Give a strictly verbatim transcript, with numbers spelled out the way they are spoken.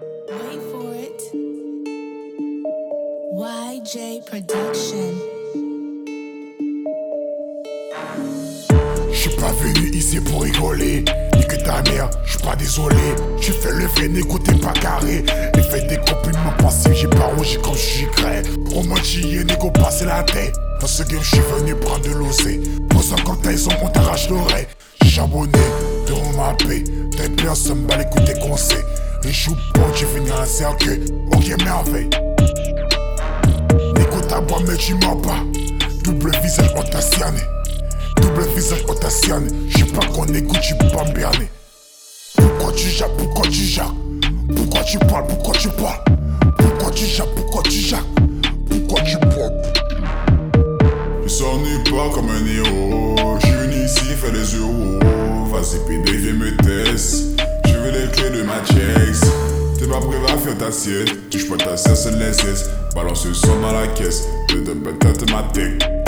Wait for it. Y J Production. J'suis pas venu ici pour rigoler. Nique ta mère, j'suis pas désolé. Tu fais le vrai négo, t'es pas carré. Et fais des compliments passifs, j'ai pas rongé comme j'suis grès. Romantier, négo, passer la tête. Dans ce game, j'suis venu prendre de l'osé. Pose un quand ils on t'arrache l'oreille. J'ai charbonné, de ma paix. T'es bien, ça me bat les coups des conseils. Les joues bon, tu finis un cercueil. Ok, merveille. Négo, ta boîte, mais tu mens pas. Double visage, on t'a cerné. Double visage, on t'a cerné. J'sais pas qu'on écoute, tu peux pas me berner. Pourquoi tu jappes, pourquoi tu jappes? Pourquoi tu parles, pourquoi tu parles? Pourquoi tu jappes, pourquoi tu jappes? Pourquoi tu parles? Je s'ennuie pas comme un héros. J'suis venu ici faire des euros. Vas-y pédé, viens me test. Je veux les clés de ma checks. T'es pas prêt à faire ta sieste. Touche pas ta sieste, c'est de l'S S. Balance le son dans la caisse. De de peut-être ma tech.